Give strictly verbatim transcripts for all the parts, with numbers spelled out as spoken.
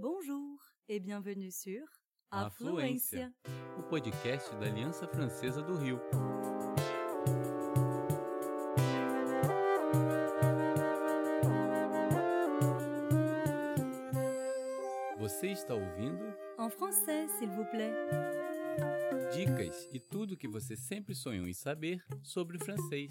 Bonjour et bienvenue sur Afluência, o podcast da Aliança Francesa do Rio. Você está ouvindo? En français, s'il vous plaît. Dicas e tudo o que você sempre sonhou em saber sobre francês.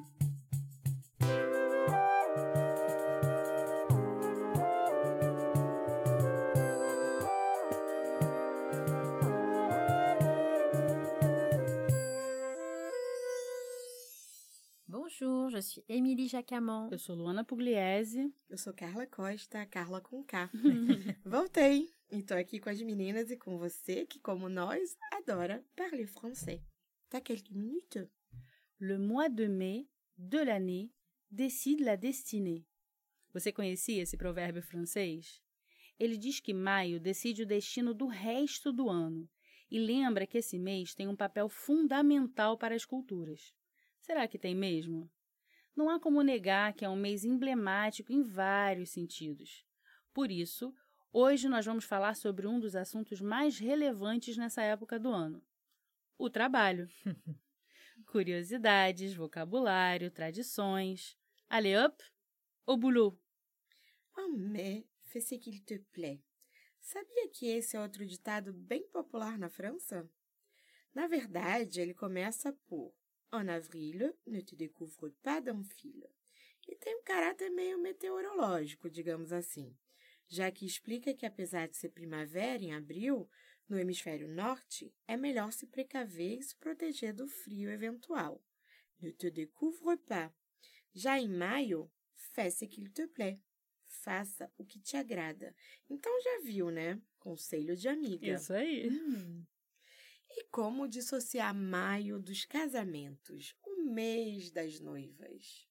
Bonjour, je suis Émilie Jacamon. Eu sou Luana Pugliese. Eu sou Carla Costa, Carla com K. Voltei e tô aqui com as meninas e com você que, como nós, adora parler français. T'as quelques minutes? Le mois de mai de l'année décide la destinée. Você conhecia esse provérbio francês? Ele diz que maio decide o destino do resto do ano e lembra que esse mês tem um papel fundamental para as culturas. Será que tem mesmo? Não há como negar que é um mês emblemático em vários sentidos. Por isso, hoje nós vamos falar sobre um dos assuntos mais relevantes nessa época do ano: o trabalho. Curiosidades, vocabulário, tradições. Allez hop, au boulot! En mai, fais ce qu'il te plaît. Sabia que esse é outro ditado bem popular na França? Na verdade, ele começa por En avril, ne te découvre pas d'un fil. E tem um caráter meio meteorológico, digamos assim, já que explica que, apesar de ser primavera em abril, no hemisfério norte, é melhor se precaver e se proteger do frio eventual. Ne te découvre pas. Já em maio, fais ce qu'il te plaît. Faça o que te agrada. Então já viu, né? Conselho de amiga. Isso aí. Hum. E como dissociar maio dos casamentos, o mês das noivas?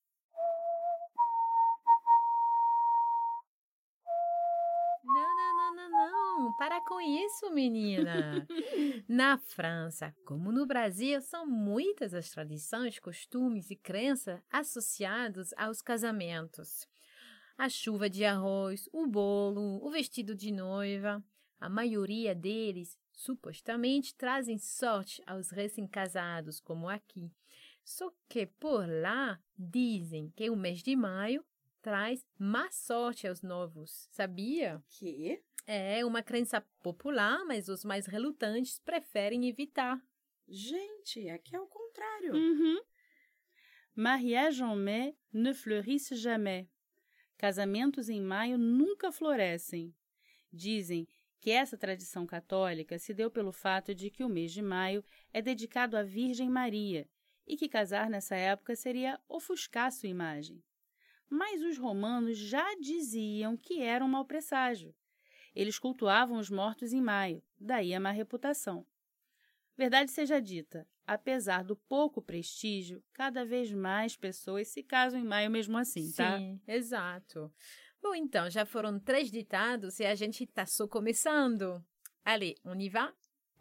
Não, não, não, não, não. Para com isso, menina. Na França, como no Brasil, são muitas as tradições, costumes e crenças associados aos casamentos. A chuva de arroz, o bolo, o vestido de noiva. A maioria deles, supostamente, trazem sorte aos recém-casados, como aqui. Só que por lá dizem que o mês de maio traz má sorte aos novos, sabia? Que? É uma crença popular, mas os mais relutantes preferem evitar. Gente, aqui é o contrário. Uhum. Mariage en mai ne fleurissent jamais. Casamentos em maio nunca florescem. Dizem que essa tradição católica se deu pelo fato de que o mês de maio é dedicado à Virgem Maria e que casar nessa época seria ofuscar sua imagem. Mas os romanos já diziam que era um mau presságio. Eles cultuavam os mortos em maio, daí a má reputação. Verdade seja dita, apesar do pouco prestígio, cada vez mais pessoas se casam em maio mesmo assim, tá? Sim, exato. Bom, então, já foram três ditados e a gente está só começando. Allez, on y va?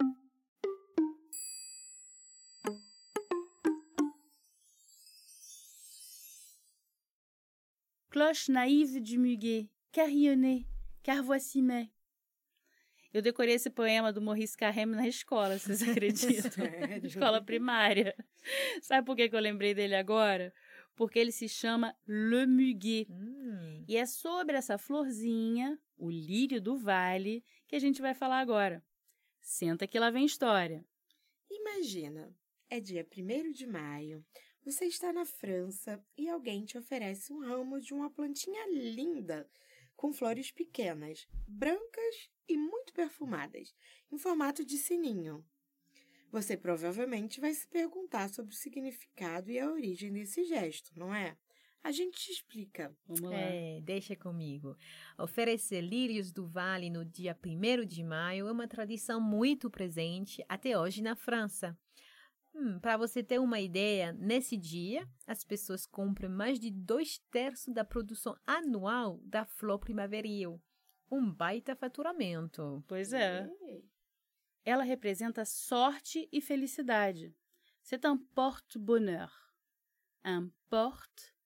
Cloche naïve du muguet, carillonnée, car voici mai. Eu decorei esse poema do Maurice Carême na escola, vocês acreditam? Escola primária. Sabe por que que eu lembrei dele agora? Porque ele se chama Le Muguet. Hum. E é sobre essa florzinha, o lírio do vale, que a gente vai falar agora. Senta que lá vem história. Imagina, é dia primeiro de maio, você está na França e alguém te oferece um ramo de uma plantinha linda, com flores pequenas, brancas e muito perfumadas, em formato de sininho. Você provavelmente vai se perguntar sobre o significado e a origem desse gesto, não é? A gente te explica. Vamos lá. É, deixa comigo. Oferecer lírios do vale no dia primeiro de maio é uma tradição muito presente até hoje na França. Hum, para você ter uma ideia, nesse dia, as pessoas compram mais de dois terços da produção anual da flor primaveril. Um baita faturamento. Pois é. Ei. Ela representa sorte e felicidade. C'est un porte-bonheur. Un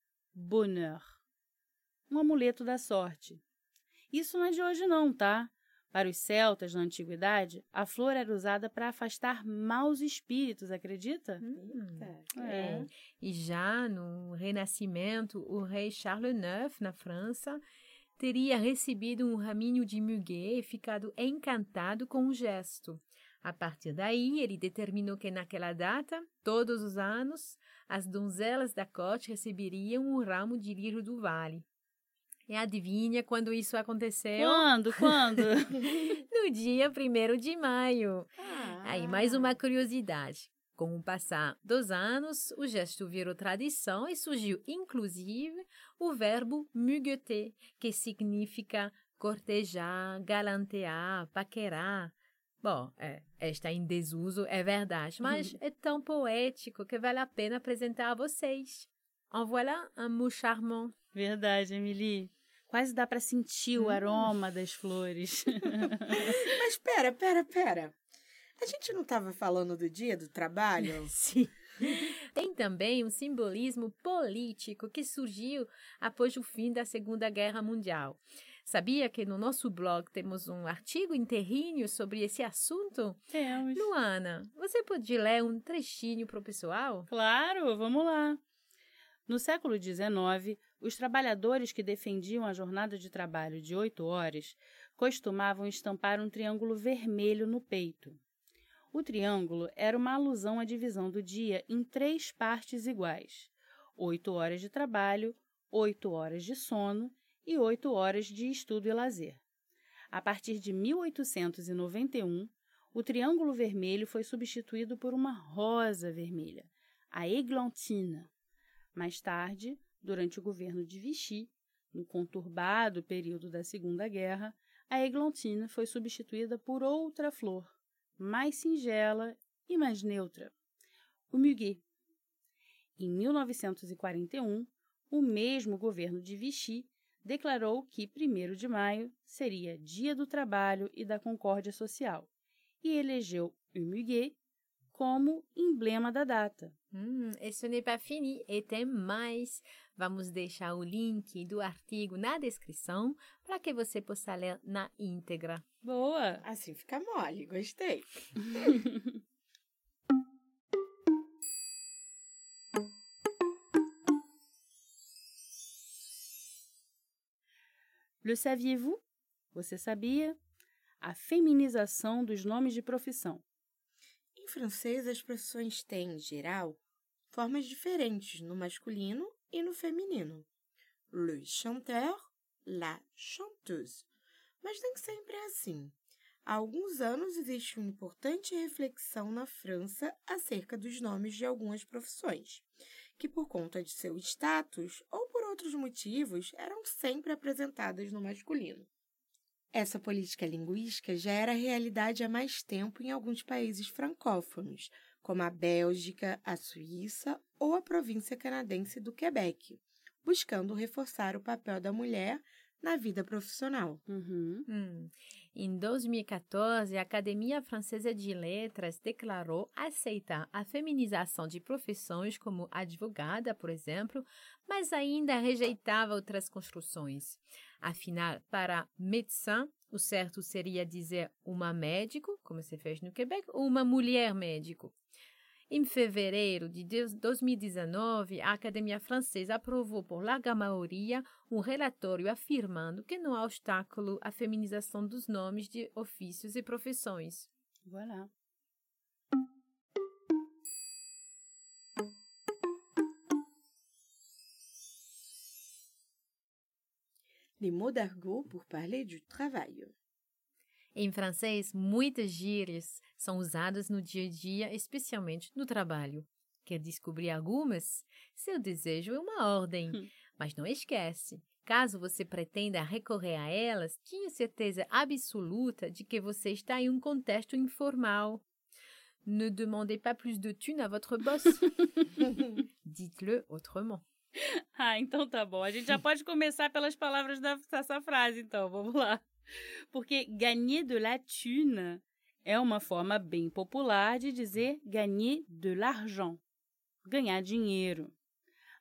porte-bonheur. Um amuleto da sorte. Isso não é de hoje não, tá? Para os celtas, na antiguidade, a flor era usada para afastar maus espíritos, acredita? Hum, É. E já no Renascimento, o rei Charles neuf, na França, teria recebido um raminho de muguet e ficado encantado com o gesto. A partir daí, ele determinou que naquela data, todos os anos, as donzelas da corte receberiam um ramo de lírio do vale. E adivinha quando isso aconteceu? Quando? Quando? No dia primeiro de maio. Ah. Aí, mais uma curiosidade. Com o passar dos anos, o gesto virou tradição e surgiu, inclusive, o verbo mugueter, que significa cortejar, galantear, paquerar. Bom, é, está em desuso, é verdade, mas é tão poético que vale a pena apresentar a vocês. En voilà un mot charmant. Verdade, Emily. Quase dá para sentir o aroma das flores. Mas pera, pera, pera. A gente não estava falando do dia do trabalho? Sim. Tem também um simbolismo político que surgiu após o fim da Segunda Guerra Mundial. Sabia que no nosso blog temos um artigo inteirinho sobre esse assunto? Temos. Luana, você pode ler um trechinho para o pessoal? Claro, vamos lá. No século dezenove, os trabalhadores que defendiam a jornada de trabalho de oito horas costumavam estampar um triângulo vermelho no peito. O triângulo era uma alusão à divisão do dia em três partes iguais: oito horas de trabalho, oito horas de sono e oito horas de estudo e lazer. A partir de mil oitocentos e noventa e um, o triângulo vermelho foi substituído por uma rosa vermelha, a églantine. Mais tarde, durante o governo de Vichy, no conturbado período da Segunda Guerra, a églantine foi substituída por outra flor, mais singela e mais neutra, o muguet. Em mil novecentos e quarenta e um, o mesmo governo de Vichy declarou que primeiro de maio seria Dia do Trabalho e da Concórdia Social e elegeu o muguet como emblema da data. Hum, e ce n'est pas fini, e tem mais. Vamos deixar o link do artigo na descrição para que você possa ler na íntegra. Boa! Assim fica mole, gostei. Le saviez-vous? Você sabia? A feminização dos nomes de profissão. Em francês, as profissões têm, em geral, formas diferentes no masculino e no feminino. Le chanteur, la chanteuse. Mas nem sempre é assim. Há alguns anos existe uma importante reflexão na França acerca dos nomes de algumas profissões, que por conta de seu status ou por outros motivos eram sempre apresentadas no masculino. Essa política linguística já era realidade há mais tempo em alguns países francófonos, como a Bélgica, a Suíça ou a província canadense do Quebec, buscando reforçar o papel da mulher na vida profissional. Uhum. Hum. Em dois mil e quatorze, a Academia Francesa de Letras declarou aceitar a feminização de profissões como advogada, por exemplo, mas ainda rejeitava outras construções. Afinal, para médecin, o certo seria dizer uma médico, como se fez no Quebec, ou uma mulher médico. Em fevereiro de dois mil e dezenove, a Academia Francesa aprovou por larga maioria um relatório afirmando que não há obstáculo à feminização dos nomes de ofícios e profissões. Voilà. Les mots d'argot pour parler du travail. Em francês, muitas gírias são usadas no dia a dia, especialmente no trabalho. Quer descobrir algumas? Seu desejo é uma ordem. Hum. Mas não esquece, caso você pretenda recorrer a elas, tenha certeza absoluta de que você está em um contexto informal. Ne demandez pas plus de thunes à votre boss. Dites-le autrement. Ah, então tá bom. A gente já pode começar pelas palavras da- dessa frase, então. Vamos lá. Porque gagner de la thune é uma forma bem popular de dizer gagner de l'argent, ganhar dinheiro.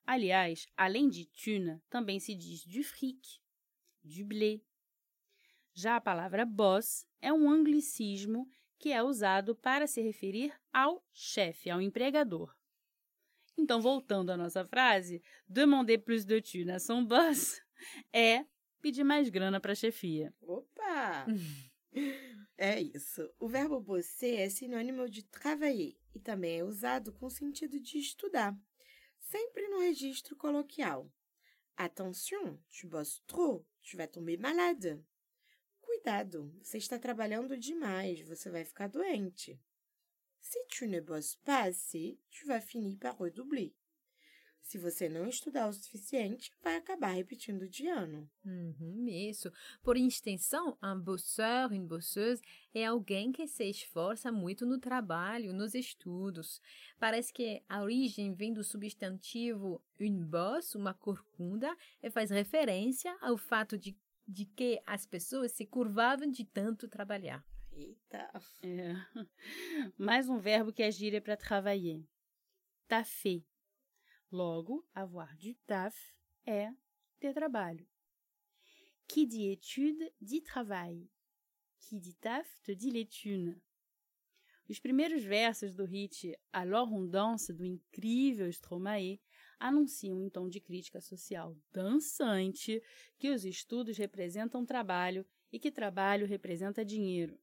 Aliás, além de thune, também se diz du fric, du blé. Já a palavra boss é um anglicismo que é usado para se referir ao chefe, ao empregador. Então, voltando à nossa frase, demander plus de thunes à son boss é pedir mais grana para a chefia. Opa! É isso. O verbo bosser é sinônimo de travailler e também é usado com o sentido de estudar, sempre no registro coloquial. Attention, tu bosses trop, tu vas tomber malade. Cuidado, você está trabalhando demais, você vai ficar doente. Si tu ne bosses pas assez, tu vas finir par redoubler. Se você não estudar o suficiente, vai acabar repetindo de ano. Uhum, isso. Por extensão, um bosseur, une bosseuse é alguém que se esforça muito no trabalho, nos estudos. Parece que a origem vem do substantivo une bosse, uma corcunda, e faz referência ao fato de, de que as pessoas se curvavam de tanto trabalhar. Eita! É. Mais um verbo que é gíria para travailler. Taffer. Logo, avoir du taf é ter trabalho. Qui dit étude, dit travail. Qui dit taf, te dit les thunes. Os primeiros versos do hit Alors on danse, do incrível Stromae, anunciam em tom de crítica social dançante que os estudos representam trabalho e que trabalho representa dinheiro.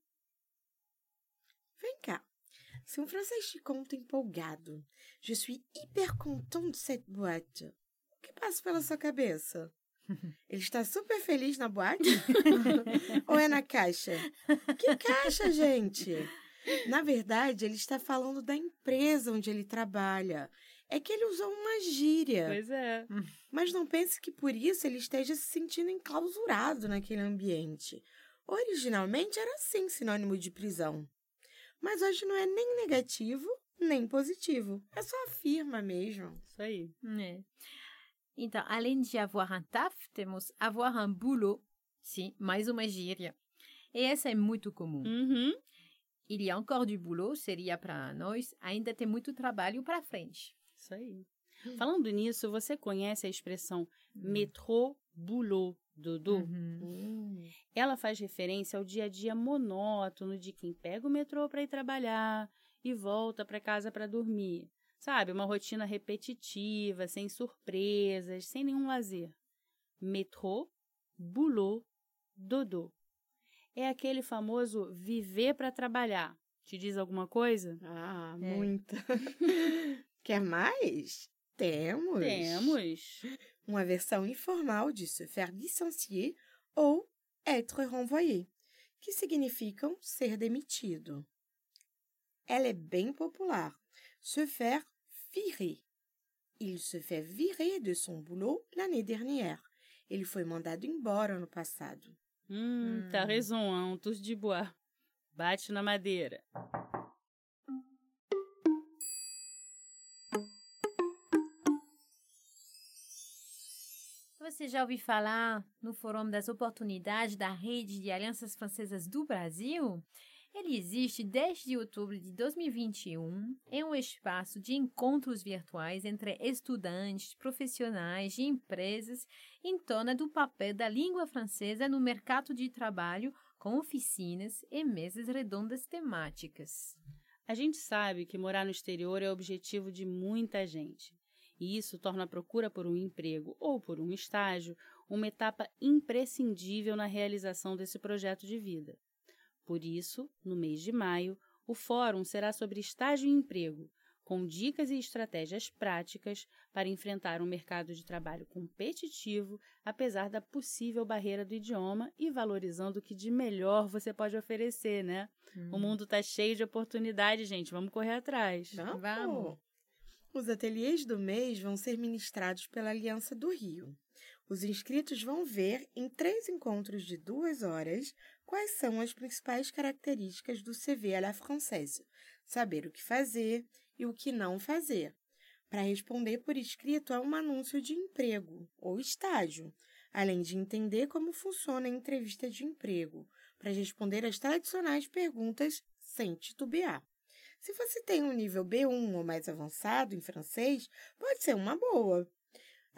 Vem cá. Se um francês te conta empolgado, je suis hyper content de cette boîte, o que passa pela sua cabeça? Ele está super feliz na boate? Ou é na caixa? Que caixa, gente? Na verdade, ele está falando da empresa onde ele trabalha. É que ele usou uma gíria. Pois é. Mas não pense que por isso ele esteja se sentindo enclausurado naquele ambiente. Originalmente era sim sinônimo de prisão. Mas hoje não é nem negativo, nem positivo. É só afirma mesmo. Isso aí. É. Então, além de avoir un taf, temos avoir un boulot. Sim, mais uma gíria. E essa é muito comum. Uhum. Il y a encore du boulot seria para nós, ainda tem muito trabalho para frente. Isso aí. Falando nisso, você conhece a expressão métro, boulot, dodo? Uhum. Hum. Ela faz referência ao dia a dia monótono de quem pega o metrô para ir trabalhar e volta para casa para dormir. Sabe, uma rotina repetitiva, sem surpresas, sem nenhum lazer. Métro, boulot, dodo. É aquele famoso viver para trabalhar. Te diz alguma coisa? Ah, É. muita. Quer mais? Temos. Temos. Uma versão informal de se faire licencier ou être renvoyé, que significam ser demitido. Ela é bem popular. Se faire virer. Il se fait virer de son boulot l'année dernière. Ele foi mandado embora no passado. Hum, tá raison, hein, tous de bois. Bate na madeira. Você já ouviu falar no Fórum das Oportunidades da Rede de Alianças Francesas do Brasil? Ele existe desde outubro de dois mil e vinte e um. É um espaço de encontros virtuais entre estudantes, profissionais e empresas em torno do papel da língua francesa no mercado de trabalho, com oficinas e mesas redondas temáticas. A gente sabe que morar no exterior é o objetivo de muita gente. E isso torna a procura por um emprego ou por um estágio uma etapa imprescindível na realização desse projeto de vida. Por isso, no mês de maio, o fórum será sobre estágio e emprego, com dicas e estratégias práticas para enfrentar um mercado de trabalho competitivo, apesar da possível barreira do idioma e valorizando o que de melhor você pode oferecer, né? Hum. O mundo está cheio de oportunidades, gente. Vamos correr atrás. Vamos. Vamos. Os ateliês do mês vão ser ministrados pela Aliança do Rio. Os inscritos vão ver, em três encontros de duas horas, quais são as principais características do C V à la française, saber o que fazer e o que não fazer, para responder por escrito a um anúncio de emprego ou estágio, além de entender como funciona a entrevista de emprego, para responder as tradicionais perguntas sem titubear. Se você tem um nível B um ou mais avançado em francês, pode ser uma boa.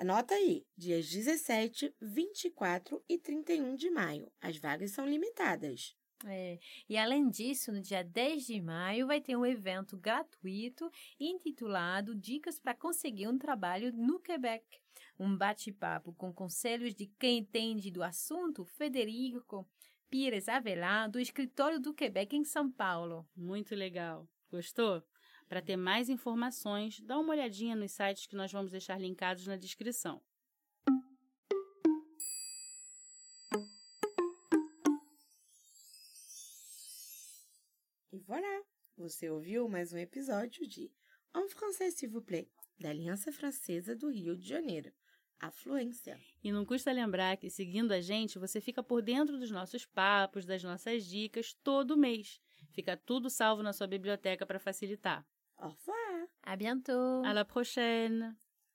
Anota aí, dias dezessete, vinte e quatro e trinta e um de maio. As vagas são limitadas. É, e além disso, no dia dez de maio vai ter um evento gratuito intitulado Dicas para conseguir um trabalho no Quebec. Um bate-papo com conselhos de quem entende do assunto, Federico Pires Avelar, do escritório do Quebec em São Paulo. Muito legal. Gostou? Para ter mais informações, dá uma olhadinha nos sites que nós vamos deixar linkados na descrição. E voilà! Você ouviu mais um episódio de En français, s'il vous plaît, da Aliança Francesa do Rio de Janeiro. A fluência. E não custa lembrar que, seguindo a gente, você fica por dentro dos nossos papos, das nossas dicas, todo mês. Fica tudo salvo na sua biblioteca para facilitar. Au revoir! À bientôt! À la prochaine!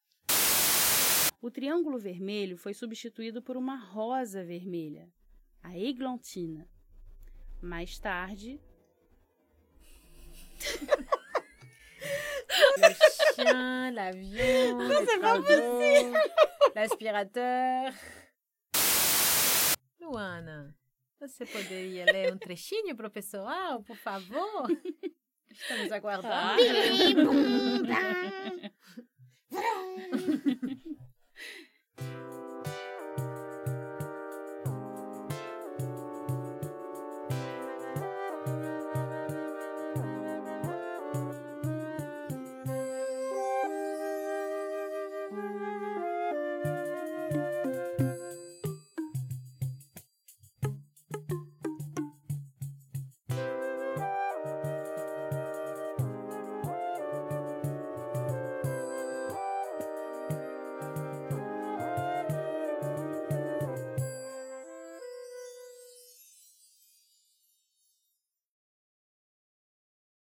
O triângulo vermelho foi substituído por uma rosa vermelha, a eglantina. Mais tarde... Le chien, l'avion, les travaux, l'aspirateur. Luana, você poderia ler um trechinho para o pessoal, por favor? Estamos aguardando. Ah.